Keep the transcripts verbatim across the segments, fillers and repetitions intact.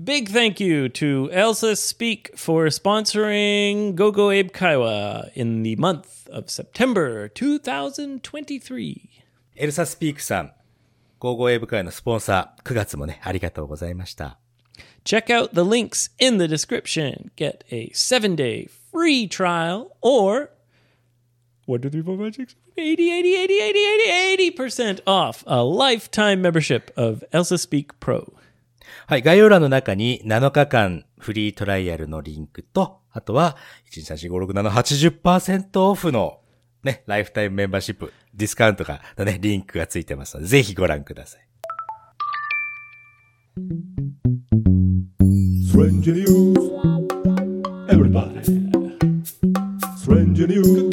Big thank you to Elsa Speak for sponsoring Gogo Abe Kaiwa in the month of September twenty twenty-three. エルサスピークさん、ゴーゴー英語会のスポンサー、くがつもね、ありがとうございました。 Check out the links in the description. Get a seven-day free trial or one, two, three, four, five, six, eighty, eighty, eighty, eighty, eighty, eighty percent off a lifetime membership of Elsa Speak Pro. はい、概要欄の中になのかかんフリートライアルのリンクと、あとは、いち、に、さん、よん、ご、ろく、なな、はちじゅっパーセント オフのね、ライフタイムメンバーシップ、ディスカウントが、のね、リンクがついてますので、ぜひご覧ください。 Stranger news, everybody. Stranger news,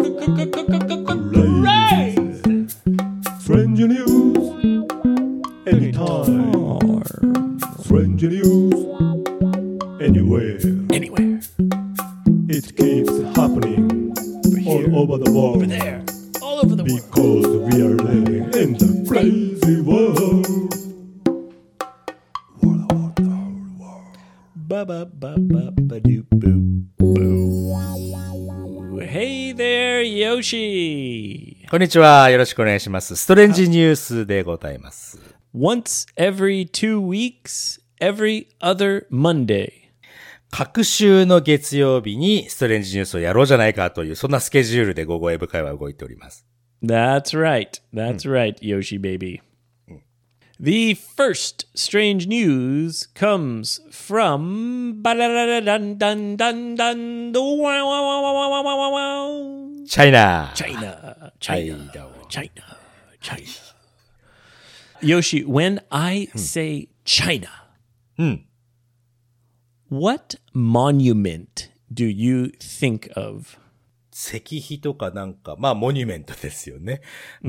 crazy. Stranger news, anytime. Stranger news, anywhere. Anywhere. It keeps happening all over the world. Over there. All over the world. Because we are living in the crazy world. Hey there, Yoshi. こんにちは。よろしくお願いします。ストレンジニュースでございます。 Once every two weeks, every other Monday. 各週の月曜日にストレンジニュースをやろうじゃないかという、そんなスケジュールでゴーゴー英語会は動いております。 That's right. That's right, Yoshi baby. The first strange news comes from China. China. China. China. China. Yoshi, when I say China, what monument do you think of? 石碑とかなんか、まあモニュメントですよね。うん、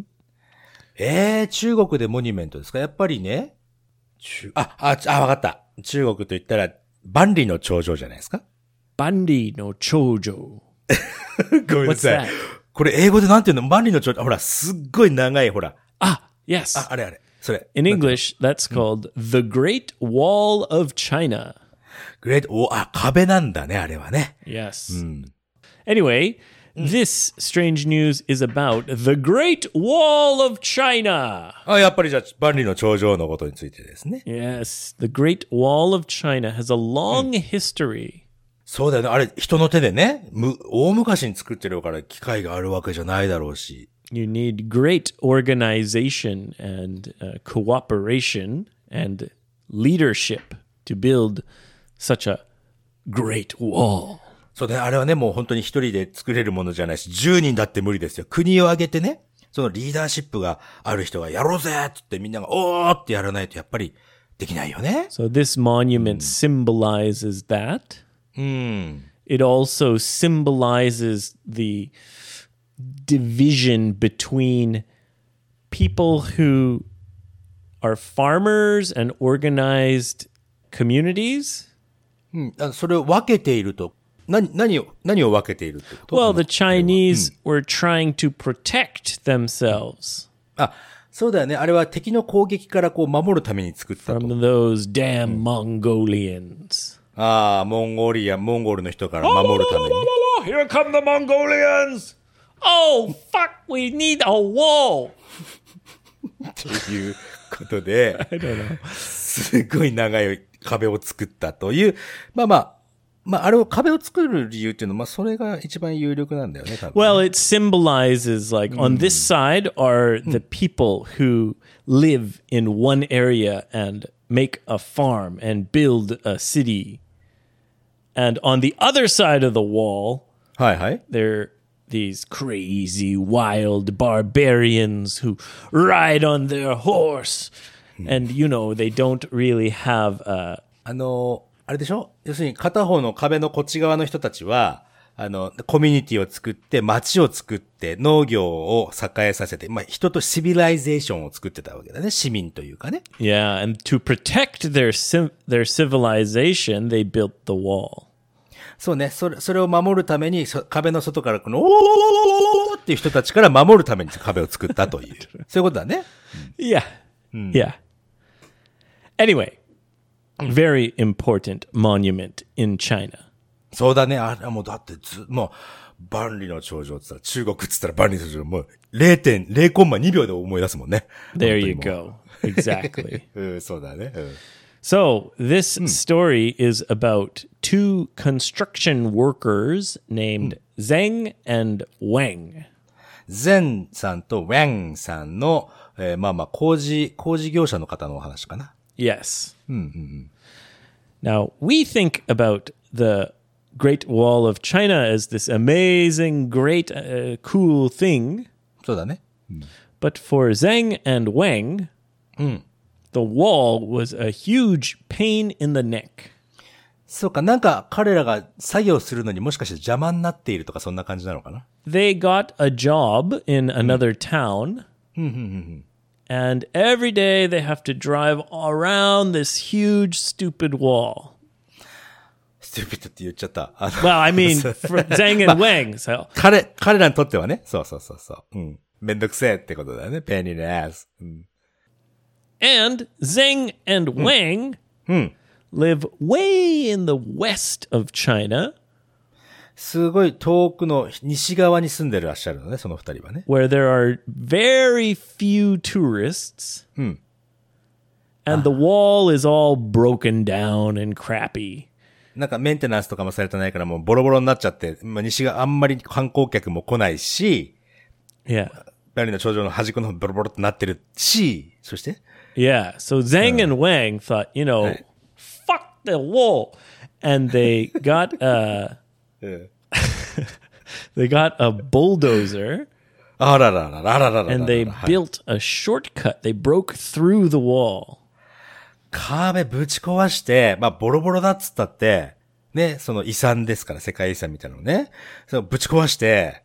えー、中国でモニュメントですか？やっぱりね。中あ、あ、あ、わかった。中国と言ったら、万里の長城じゃないですか？ 万里の長城。 ごめんなさい。これ英語でなんていうの？万里の長城。ほら、すっごい長い、ほら。 あ、yes. あ、あれあれ。それ。 In English, that's called the Great Wall of China. Great Wall, あ、壁なんだね、あれはね。 Yes. うん、Anyway, this strange news is about the Great Wall of China. あ、やっぱりじゃあ、万里の長城のことについてですね。 Yes, the Great Wall of China has a long history. そうだよね。あれ、人の手でね、む、大昔に作ってるから機械があるわけじゃないだろうし。 You need great organization and uh, cooperation and leadership to build such a great wall. そうね、あれはね、もう本当に一人で作れるものじゃないし、じゅうにんだって無理ですよ。国を挙げてね、そのリーダーシップがある人がやろうぜって言ってみんながおーってやらないとやっぱりできないよね。 So this monument symbolizes that. うん。 It also symbolizes the division between people who are farmers and organized communities. うん、それを分けていると。何、何を、何を分けているってこと？ Well, the Chinese were trying to protect themselves. あ、そうだよね。あれは敵の攻撃からこう守るために作ったと。 From those damn Mongolians. ああ、モンゴリア、モンゴルの人から守るために。 Here come the Mongolians! Oh, fuck, we need a wall! ということで、 I don't know. すごい長い壁を作ったという、まあまあ、まあ、あれを壁を作る理由っていうのは、まあ、それが一番有力なんだよね、多分。 Well, it symbolizes, like, on this side are the people who live in one area and make a farm and build a city. And on the other side of the wall, はいはい。 they're these crazy, wild barbarians who ride on their horse. And, you know, they don't really have a... あの、あれでしょ？要するに片方の壁のこっち側の人たちは、あの、コミュニティを作って、街を作って、農業を栄えさせて、まあ、人とシビライゼーションを作ってたわけだね。市民というかね。 Yeah, and to protect their their civilization, they built the wall. そうね。それ、それを守るために、壁の外からこの、おーおーおーおーおーっていう人たちから守るために壁を作ったという。そういうことだね。 Yeah. Yeah. Anyway, very important monument in China. そうだね。あれもうだってず、もう、万里の長城って言ったら、中国って言ったら万里の長城、もうれいてんれいコンマにびょうで思い出すもんね。 There you 本当にも go. Exactly. ううん、そうだね。うん So, this story is about two construction workers named Zheng and Wang. ゼンさんとウェンさんの、えーまあまあ、工事、工事業者の方のお話かな。 Yes. Now, we think about the Great Wall of China as this amazing, great, uh, cool thing. そうだね。 But for Zheng and Wang, the wall was a huge pain in the neck. そうか、なんか彼らが作業するのにもしかして邪魔になっているとかそんな感じなのかな。 They got a job in another town. And every day they have to drive around this huge, stupid wall. ステューピッドって言っちゃった。あの Well, I mean, for Zhang and Wang. So, 彼、彼らにとってはね。そうそうそうそう。うん。めんどくせえってことだよね。ペニーのアス。うん。 and Zheng and Wang live way in the west of China, すごい遠くの西側に住んでらっしゃるのね、その二人はね。 where there are very few tourists. And the wall is all broken down and crappy. なんかメンテナンスとかもされてないからもうボロボロになっちゃって、まあ、西があんまり観光客も来ないし、 Yeah. バリの頂上の端っこの方ボロボロってなってるし、そして Yeah. So Zhang and Wang thought, you know, Right. fuck the wall. And they got a, うん they got a bulldozer あららららららららら and they はい built a shortcut. They broke through the wall. 壁ぶち壊して、まあボロボロだっつったって、ね、その遺産ですから、世界遺産みたいなのね。そのぶち壊して、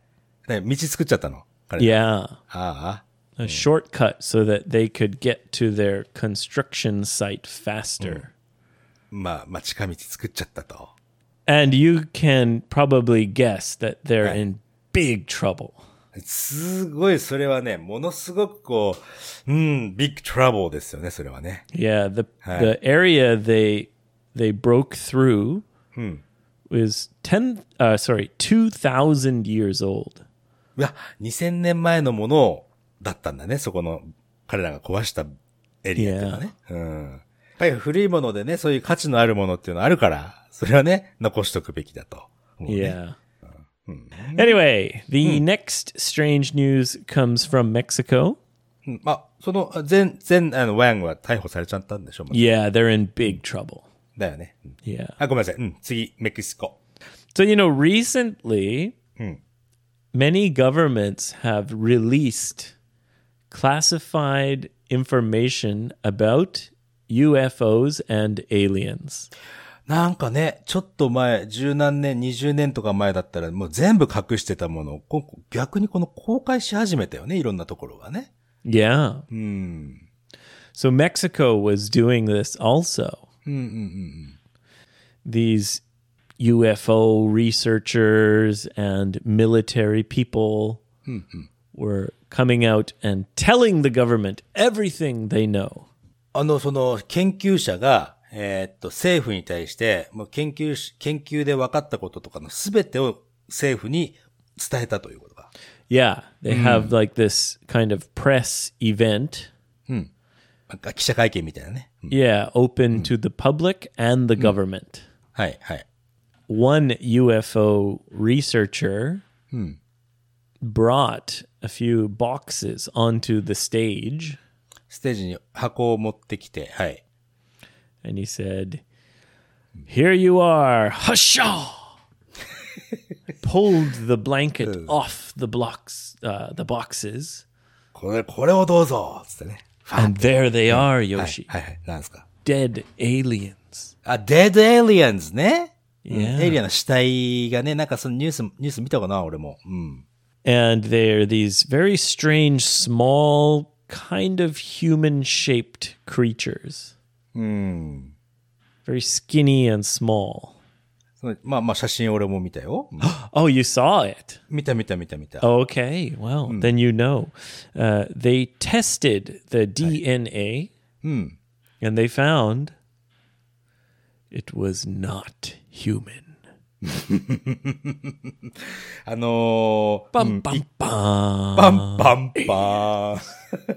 ね、道作っちゃったの。彼ら Yeah. ああ。 A shortcut so that they could get to their construction site faster. まあ、まあ近道作っちゃったと。 And you can probably guess that they're Right. in big trouble. すごい、それはね、ものすごくこう、うん、ビッグトラブルですよね、それはね。 Yeah, the Right. the area they they broke through was ten uh sorry, two thousand years old. いや、にせんねんまえのものだったんだね、そこの、彼らが壊したエリアっていうのはね。うん。やっぱり古いものでね、そういう価値のあるものっていうのはあるから、それはね、残しとくべきだと思うね。 Yeah. Anyway, the next strange news comes from Mexico. うんまあ、その、全、全、あの、ワンは逮捕されちゃったんでしょう、 Yeah, they're in big trouble. だよね。うん Yeah. あ、ごめんなさい。うん、次、メキシコ。 So, you know, recently, many governments have released classified information about U F Os and aliens. なんかね、ちょっと前、十何年、二十年とか前だったら、もう全部隠してたものを、こ逆にこの公開し始めたよね、いろんなところがね。 Yeah. So Mexico was doing this also. These U F O researchers and military people were coming out and telling the government everything they know. あの、その、研究者が、えーっと、政府に対して、もう研究し、研究で分かったこととかのすべてを政府に伝えたということか。 Yeah, they have like this kind of press event. なんか記者会見みたいなね。うん Yeah, open to the public and the government. はい、はい。 One U F O researcher brought a few boxes onto the stage ステージに箱を持ってきて、はい。 and he said, "Here you are, hushaw!" Pulled the blanket off the blocks, uh, the boxes, これ、これをどうぞつってね。 and there they are, はい、 Yoshi. はい、はい。なんですか。 Dead aliens. あ、デッドエイリアンズね。うん Yeah. エイリアンの死体がね、なんかそのニュース、ニュース見たかな、俺も。うん。 And they're these very strange, small, kind of human-shaped creatures. Very skinny and small. そのまあまあ写真俺も見たよ。うん Oh, you saw it. 見た見た見た見た。 Okay, well, then you know. Uh, they tested the D N A, and they found It was not human. あのー、 Bum, bum, bum. パンパンパーン。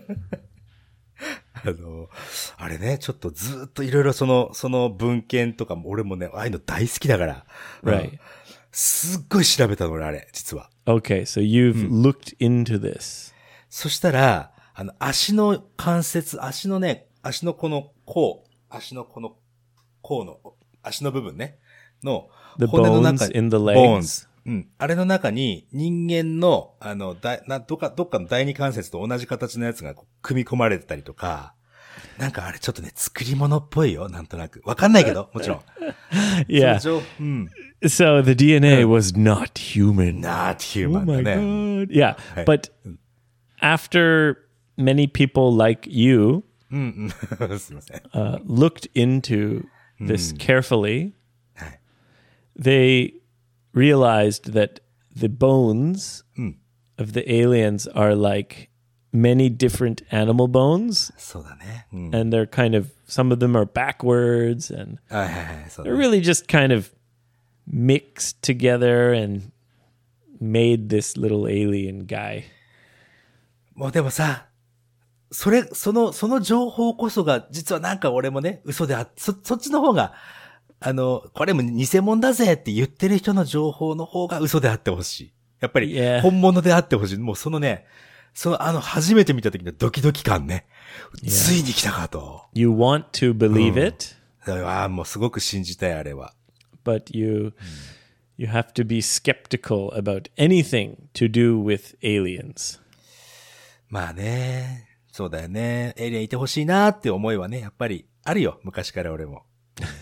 あの、あれね、ちょっとずーっといろいろその、その文献とかも、俺もね、ああいうの大好きだから。 Right. うんすっごい調べたの俺、あれ、実は。 Okay, so you've looked into this. そしたら、あの、足の関節、足のね、足のこの甲、足のこの甲の、足の部分ね、の The 骨の中 bones に、 in the bones legs. うん。あれの中に人間の、あの、だ、な、どっか、どっかの第二関節と同じ形のやつがこう組み込まれてたりとか、なんかあれちょっとね、作り物っぽいよ、なんとなく。わかんないけど、もちろん。 Yeah. その情うん。 So the D N A was not human. not Oh human だ my ね。 god. Yeah, but after many people like you うんうん。すいません。 uh, looked into this carefully, はい。 they realized that the bones of the aliens are like many different animal bones, そうだね。うん。 and they're kind of, some of them are backwards, and はいはいはい。そうだ they're ね。 really just kind of mixed together and made this little alien guy. もうでもさ、それ、その、その情報こそが、実はなんか俺もね、嘘であ、そ、そっちの方が、あの、これも偽物だぜって言ってる人の情報の方が嘘であってほしい。やっぱり Yeah. 本物であってほしい。もうそのね、そのあの初めて見た時のドキドキ感ね。ついに来たかと。 You want to believe it, ああ、もうすごく信じたい、あれは。 but you you have to be skeptical about anything to do with aliens. まあね、そうだよね。エイリアンいてほしいなって思いはね、やっぱりあるよ。昔から俺も。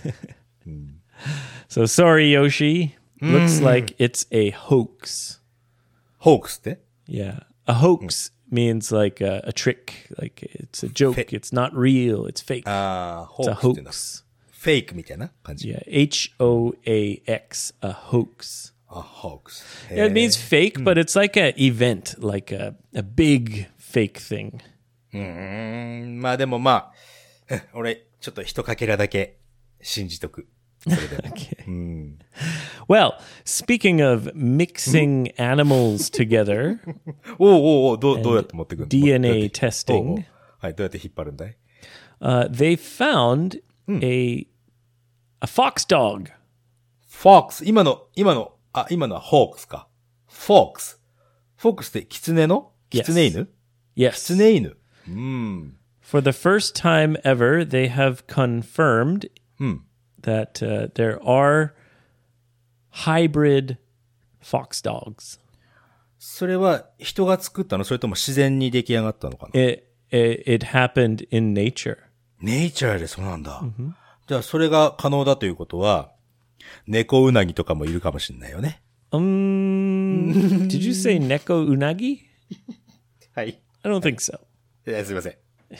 So sorry, Yoshi. Looks like it's a hoax. ホークスって Yeah. A hoax means like a, a trick, like it's a joke, Fake. it's not real, it's fake. ああ、ホ It's ー a クスっていうのは hoax. フェイクみたいな感じ。 Yeah, H O A X, a hoax. あ、ホークス。 Yeah, it means fake, but it's like an event, like a, a big fake thing. うーん、まあでもまあ、うん俺、ちょっと一かけらだけ信じとく。それでも。 Okay. Well, speaking of mixing animals together, おうおうおう、どう、どうやって持ってくるの D N A どうやって testing. おうおうはい、どうやって引っ張るんだい uh, they found a a fox dog. フォークス、今の、今の、あ、今のはホークスか。フォークス。フォークスってキツネのキツネ犬 Yes. キツネ犬。うん。 For the first time ever, they have confirmed that uh, there are hybrid fox dogs. それは人が作ったのそれとも自然に出来上がったのかな It it, it happened in nature. ネイチャーでそうなんだ。じゃあそれが可能だということは、猫ウナギとかもいるかもしれないよね。 Um, did you say neko unagi? はい。 I don't think so. いやすいません。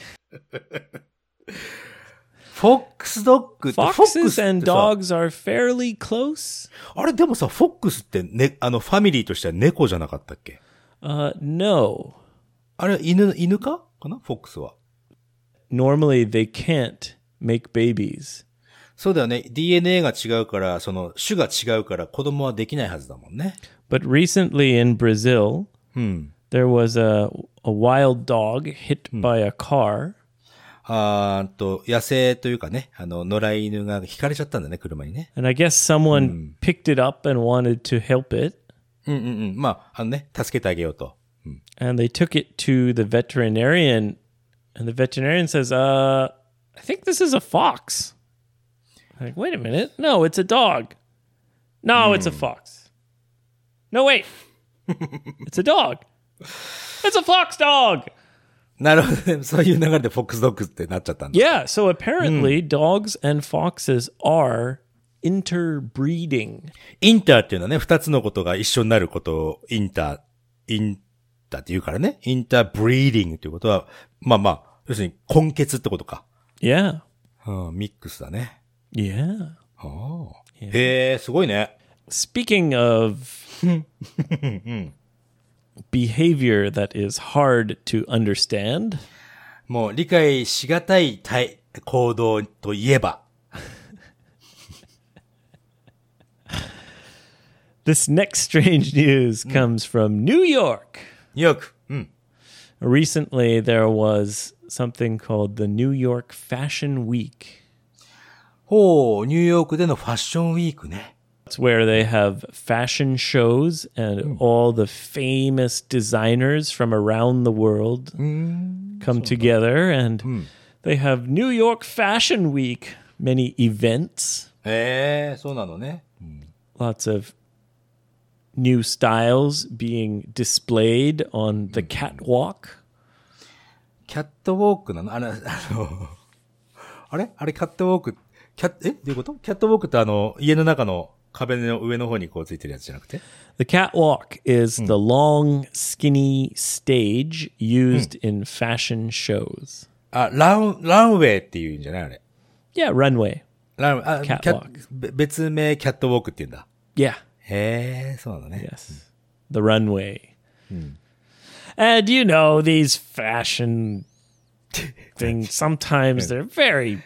フォックスドッグって、フォックス Foxes って and さ、 dogs are fairly close. あれでもさ、フォックスってね、あの、ファミリーとしては猫じゃなかったっけ Uh, no. あれ、犬、犬かかなフォックスは。 Normally, they can't make babies. そうだよね。ディーエヌエー が違うから、その、種が違うから子供はできないはずだもんね。 But recently in Brazil, there was a a wild dog hit by a car, あーっと、野生というかね、あの、野良犬が引かれちゃったんだね、車にね。 and I guess someone picked it up and wanted to help it, うんうんうん。まあ、あのね、助けてあげようと。 and they took it to the veterinarian, and the veterinarian says, "Uh, I think this is a fox." I'm like, wait a minute, no, it's a dog. No, it's a fox. No, wait, it's a dog. It's a fox dog. なるほどね。そういう流れでフォックスドッグってなっちゃったんだ。 Yeah, so apparently dogs and foxes are interbreeding. インターっていうのはね、二つのことが一緒になることをインター、インターって言うからね。インターブリーディングっていうことは、まあまあ、要するに根血ってことか。 Yeah, うん、ミックスだね。 yeah. へえ、すごいね。 Speaking of behavior that is hard to understand, もう理解しがたい対行動といえば。 This next strange news comes from New York. ニューヨーク。うん。 Recently, there was something called the New York Fashion Week. ほう、ニューヨークでのファッションウィークね。 It's where they have fashion shows and all the famous designers from around the world come together and they have New York Fashion Week, many events, へえ、そうなのね。 lots of new styles being displayed on the catwalk. キャットウォークなのあの、あの、あれあれキャットウォーク、キャッ、えどういうことキャットウォークってあの、家の中の壁の上の方にこうついてるやつじゃなくて The catwalk is the long, skinny stage used in fashion shows. あ、ラン、ランウェイっていうんじゃないあれ。 Yeah, runway. ラン、あ、キャ Catwalk べ別名キャットウォークって言うんだ。 Yeah. へえ、そうなのね。 Yes. The runway. And you know, these fashion things, sometimes they're very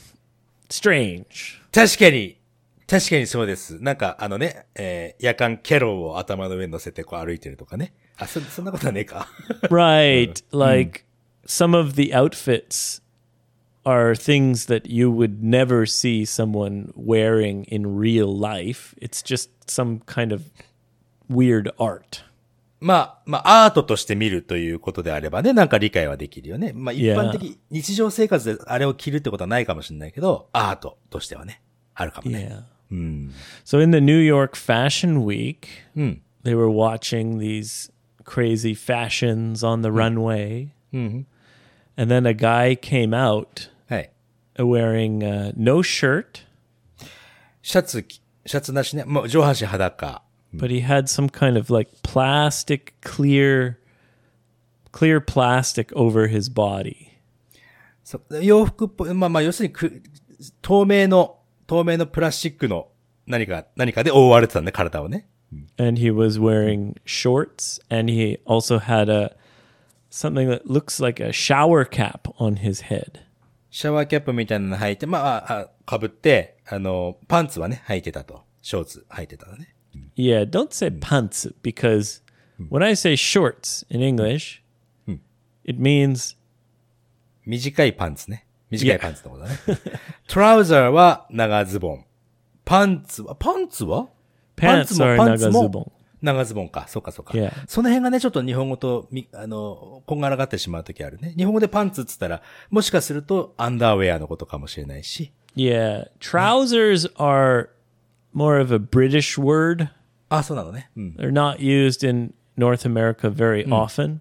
strange. 確かに、確かにそうです。なんかあのね、えー夜間キャロルを頭の上に乗せてこう歩いてるとかね。あ、そ、そんなことはねえか。 Right. Like some of the outfits are things that you would never see someone wearing in real life. It's just some kind of weird art. まあ、まあ、アートとして見るということであればね、なんか理解はできるよね。まあ、一 Yeah. 般的、日常生活であれを着るってことはないかもしれないけど、アートとしてはね、あるかもね。 Yeah. So in the New York Fashion Week, うん。 they were watching these crazy fashions on the runway. And then a guy came out はい。 wearing uh, no shirt, シャツ着、シャツなしね、もう上半身裸。 but he had some kind of like plastic clear clear plastic over his body. そ洋服っぽい、まあまあ、要するにく、透明の、透明のプラスチックの何か、何かで覆われてたね、体をね。 And he was wearing shorts and he also had a something that looks like a shower cap on his head. シャワーキャップみたいなの履いて、まあ、あ、あ被って、あの、パンツはね、履いてたと。ショーツ履いてたのね。 Yeah, don't say pants because when I say shorts in English, it means 短いパンツね。短いパンツのことだね。トラウザーは長ズボン。パンツは、パンツは pants are パンツも nagazubon. 長ズボンか。そうかそうか。 Yeah. その辺がね、ちょっと日本語とみ、あの、こんがらがってしまうときあるね。日本語でパンツっつったら、もしかするとアンダーウェアのことかもしれないし。 Yeah, trousers are more of a British word. あ、そうなのね。うん。 They're not used in North America very often.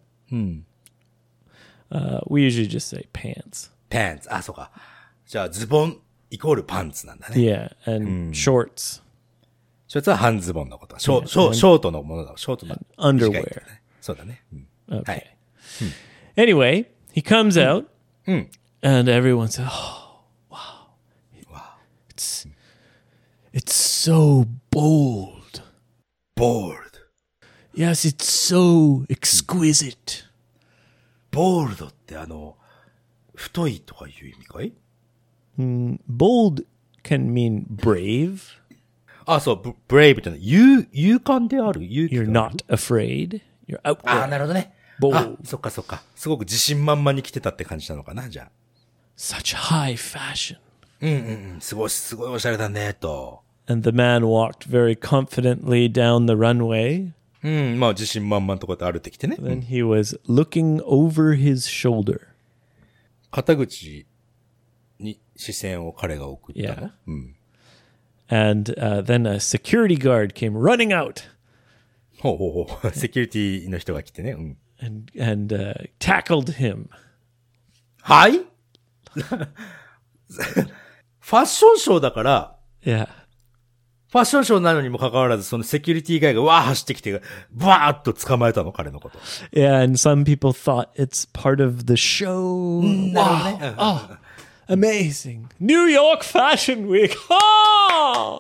Uh, we usually just say pants. パンツ。あ、そうか。じゃあ、ズボンイコールパンツなんだね。 Yeah, and shorts, ショーツは半ズボンのこと。ショー、ショー、ショートのものだ。ショートの。 underwear. 短いってねそうだね。うん。 Okay. はい。 Anyway, he comes out, and everyone says, "Oh, wow, it's it's so bold. ボールド。 Yes, it's so exquisite." ボールドってあの、太いとかいう意味かい Bold can mean brave. あ、そう、ブ、ブレイブってのは、勇、勇敢である勇気 You're がある not afraid. You're out あ、 there. なるほどね。 Bold. あ、そっかそっか。すごく自信満々に来てたって感じなのかな、じゃあ。 Such high fashion. うんうんうん。すごい、すごいおしゃれだね、と。 And the man walked very confidently down the runway. うん、まあ自信満々とかって歩いてきてね。 Then he was looking over his shoulder. 肩口に視線を彼が送ったの Yeah. うん。 And uh, then a security guard came running out ほうほうほう。セキュリティの人が来てね。うん。 and, and uh, tackled him. はいファッションショーだから、 Yeah. ファッションショーなのにもかかわらず、そのセキュリティガイがわー走ってきて、バーッと捕まえたの、彼のこと。 Yeah, and some people thought it's part of the show. Wow. Oh, amazing. New York Fashion Week. Oh!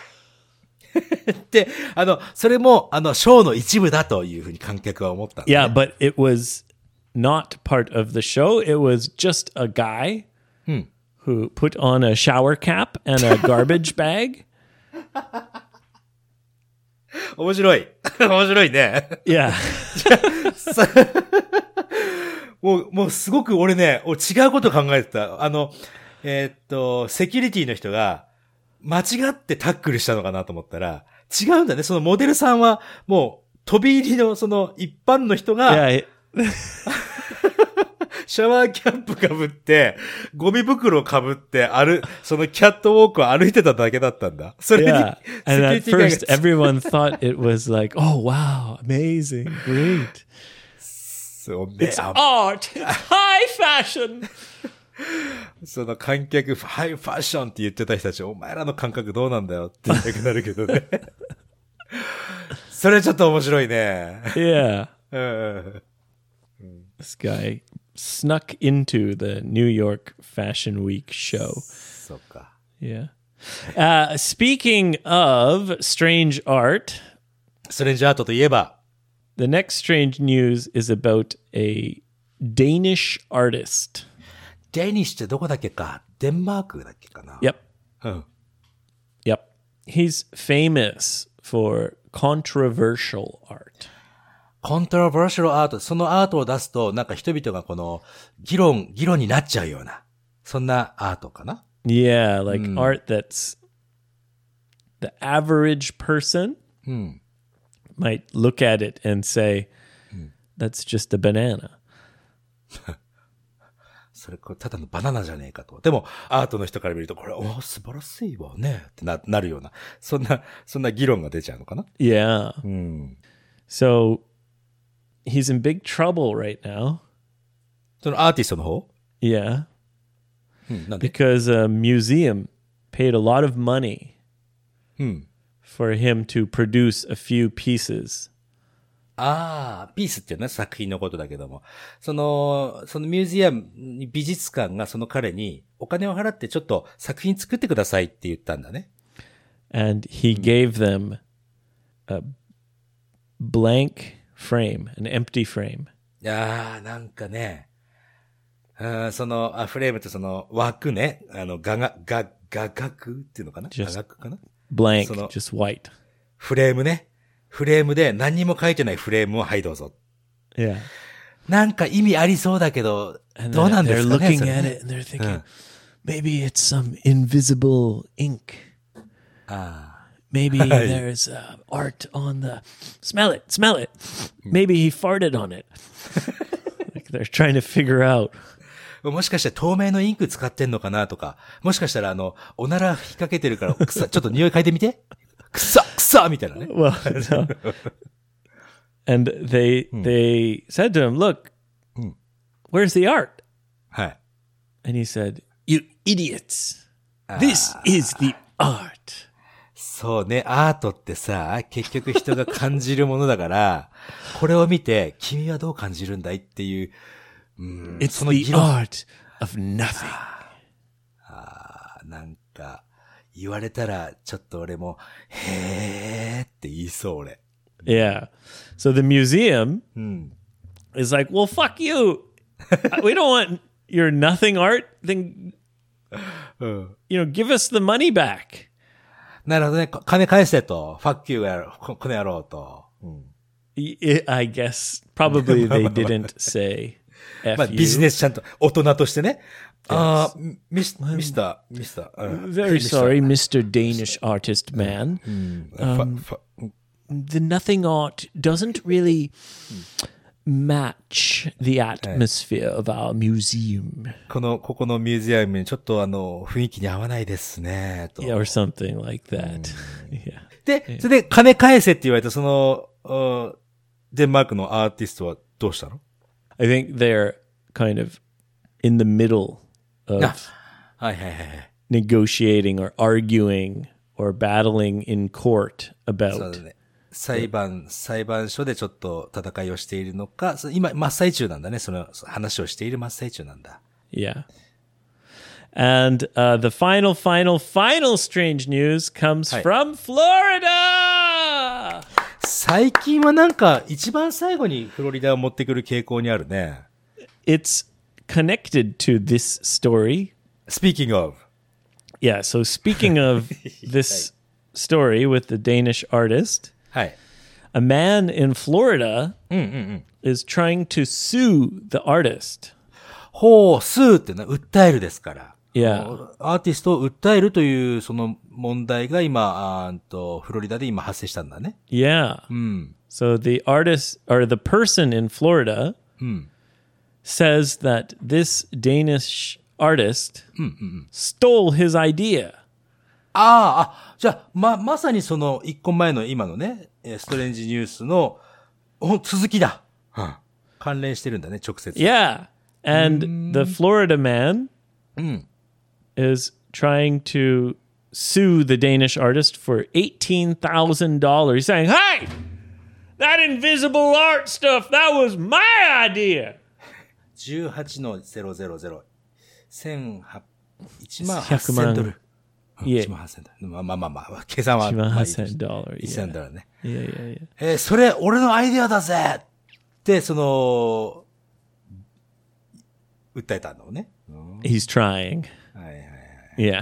で、あの、それも、あの、ショーの一部だというふうに観客は思ったんだ、ね。 Yeah, but it was not part of the show. It was just a guy who put on a shower cap and a garbage bag. 面白い。面白いね。 Yeah. もう、もうすごく俺ね、俺違うこと考えてた。あの、えーっと、セキュリティの人が間違ってタックルしたのかなと思ったら、違うんだね。そのモデルさんはもう飛び入りのその一般の人が、 Yeah. シャワーキャップ被って、ゴミ袋被って、ある、そのキャットウォークを歩いてただけだったんだ。それに、 Yeah. セ And キュ at リティが first, everyone thought it was like, oh, wow, amazing, great. そうね、 It's あ art. It's high fashion. その観客、ハイファッションって言ってた人たち、お前らの感覚どうなんだよって言いたくなるけどね。それちょっと面白いね。 Yeah. うん。 This guy snuck into the New York Fashion Week show. そうか。 Yeah. Uh, speaking of strange art, ストレンジアートといえば、 the next strange news is about a Danish artist. デニッシュってどこだっけか、デンマークだっけかな。 Yep. うん。 Yep. He's famous for controversial art. コントロバーシャルアート、そのアートを出すと、なんか人々がこの、議論、議論になっちゃうような、そんなアートかな。 Yeah, like art that's the average person might look at it and say, that's just a banana. それこれただのバナナじゃねえかと。でも、アートの人から見ると、これ、お素晴らしいわね、ってな、なるような、そんな、そんな議論が出ちゃうのかな。 Yeah. うん。 So he's in big trouble right now. そのアーティストの方 Yeah. うん、なんで Because a museum paid a lot of money うん。 for him to produce a few pieces. ああ、ピースっていうのは作品のことだけども、その、そのミュージアム、美術館がその彼にお金を払ってちょっと作品作ってくださいって言ったんだね。 And he gave them a blank frame, an empty frame. いやー、なんかね、あその、あフレームってその枠ね、あの、画が、画、画角っていうのかな Just 画角かな Blank, その just white. フレームね。フレームで何にも書いてないフレームをはいどうぞ。 Yeah. なんか意味ありそうだけど、 And どうなん they're ですかね looking それ at ね it and they're thinking, maybe it's some invisible ink. あ Maybe Hey. there's uh, art on the. Smell it, smell it. Maybe he farted on it. Like they're trying to figure out. あもしかして透明のインク使ってんのかなとか、もしかしたらあの、おなら吹きかけてるから、くさ、ちょっと匂い嗅いでみて。くさ、くさみたいなね。 Well, no. And they they said to him, "Look, where's the art?" はい。 And he said, "You idiots! This is the art." そうね、アートってさ、結局人が感じるものだから、これを見て、君はどう感じるんだいっていう、うん、 It's その the 議論、 art of nothing. なんか、言われたら、ちょっと俺も、へーって言いそう、俺。 Yeah. So the museum うん。 is like, "Well, fuck you. We don't want your nothing art. Then, うん。 you know, give us the money back." なるほどね、金返せと、ファッキューやろ、ここの野郎と。うん。 I I guess probably they didn't say まあ、 F ビジ you. ネスちゃんと、大人としてね。ああ、ミス、ミスター、ミスター。うん Very sorry, Mister Danish artist man. ファファ The nothing art doesn't really match the atmosphere of our museum. この、ここのミュージアムにちょっとあの、雰囲気に合わないですね、と。 Yeah, or something like that. Yeah. で、それで金返せって言われたその、あデンマークのアーティストはどうしたの？ I think they're kind of in the middle of あ、はいはいはいはい。 negotiating or arguing or battling in court そう about だね。裁判、裁判所でちょっと戦いをしているのか、そ今、真っ最中なんだね。その話をしている真っ最中なんだ。 Yeah. And uh, the final, final, final strange news comes Hi. from Florida. 最近はなんか、一番最後にフロリダを持ってくる傾向にあるね。 It's connected to this story. Speaking of. Yeah. So speaking of this story with the Danish artist, はい。 A man in Florida うんうんうん。 is trying to sue the artist. ほう、スーってのは訴えるですから。 Yeah. アーティストを訴えるというその問題が今、あーんと、フロリダで今発生したんだね。 Yeah. うん。 So the artist or the person in Florida うん。 says that this Danish artist stole his idea. ああ、あ、じゃあ、ま、まさにその一個前の今のね、えーストレンジニュースの、お続きだ。うん。関連してるんだね、直接。 Yeah. And the Florida man うん。 is trying to sue the Danish artist for eighteen thousand dollars. He's saying, hey, that invisible art stuff, that was my idea. じゅうはちのゼロゼロゼロ。千八、一万ひゃくまん八千ドル。うんいえ一万八千ドル。まあまあまあまあ、計算は。 one まあいい thousand として dollars. 一 Yeah. 千ドルね。 Yeah, yeah, yeah. えーそれ、俺のアイデアだぜって、その、訴えたのね。うん He's trying. はいはいはい。 Yeah.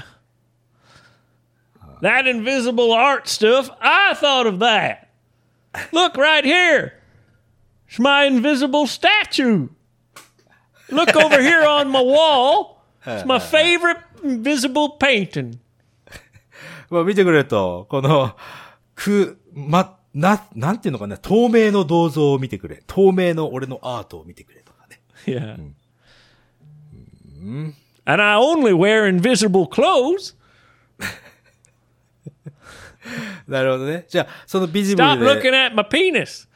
That invisible art stuff, I thought of that. Look right here. It's my invisible statue. Look over here on my wall. It's my favorite invisible painting. まあ見てくれると、この、く、ま、な、なんていうのかな、透明の銅像を見てくれ。透明の俺のアートを見てくれとかね。 Yeah. And I only wear invisible clothes. なるほどね。じゃあ、そのビジブ Stop ル looking で、 at my penis.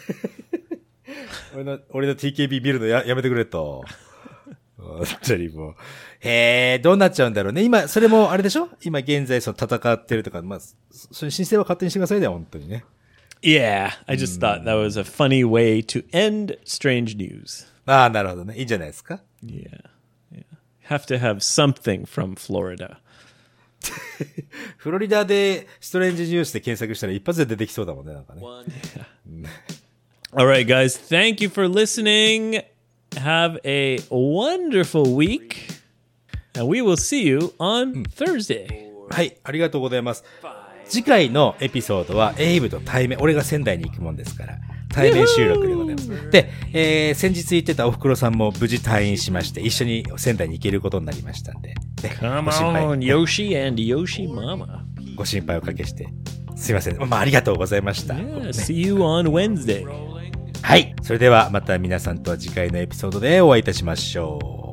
俺の、俺の ティーケービー 見るのや、やめてくれと。本当にもう。へえ、どうなっちゃうんだろうね。今、それもあれでしょ今現在その戦ってるとか、まあ、そそういう申請は勝手にしてくださいね、本当にね。 Yeah, I just thought that was a funny way to end strange news. ああ、なるほどね。いいんじゃないですか。 Yeah. Yeah. Have to have something from Florida. フロリダでストレンジニュースで検索したら一発で出てきそうだもんね、なんかね。 All right, guys. Thank you for listening. Have a wonderful week. And we will see you on Thursday. はい、ありがとうございます。次回のエピソードはエイブと対面、俺が仙台に行くもんですから、対面収録でございます。で、えー、先日言ってたおふくろさんも無事退院しまして、一緒に仙台に行けることになりましたんで、ね、 Come ご心配 on, Yoshi and Yoshi Mama. ご心配おかけして、すいません。まあ、ありがとうございました。 Yeah, see you on Wednesday. はい。それではまた皆さんとは次回のエピソードでお会いいたしましょう。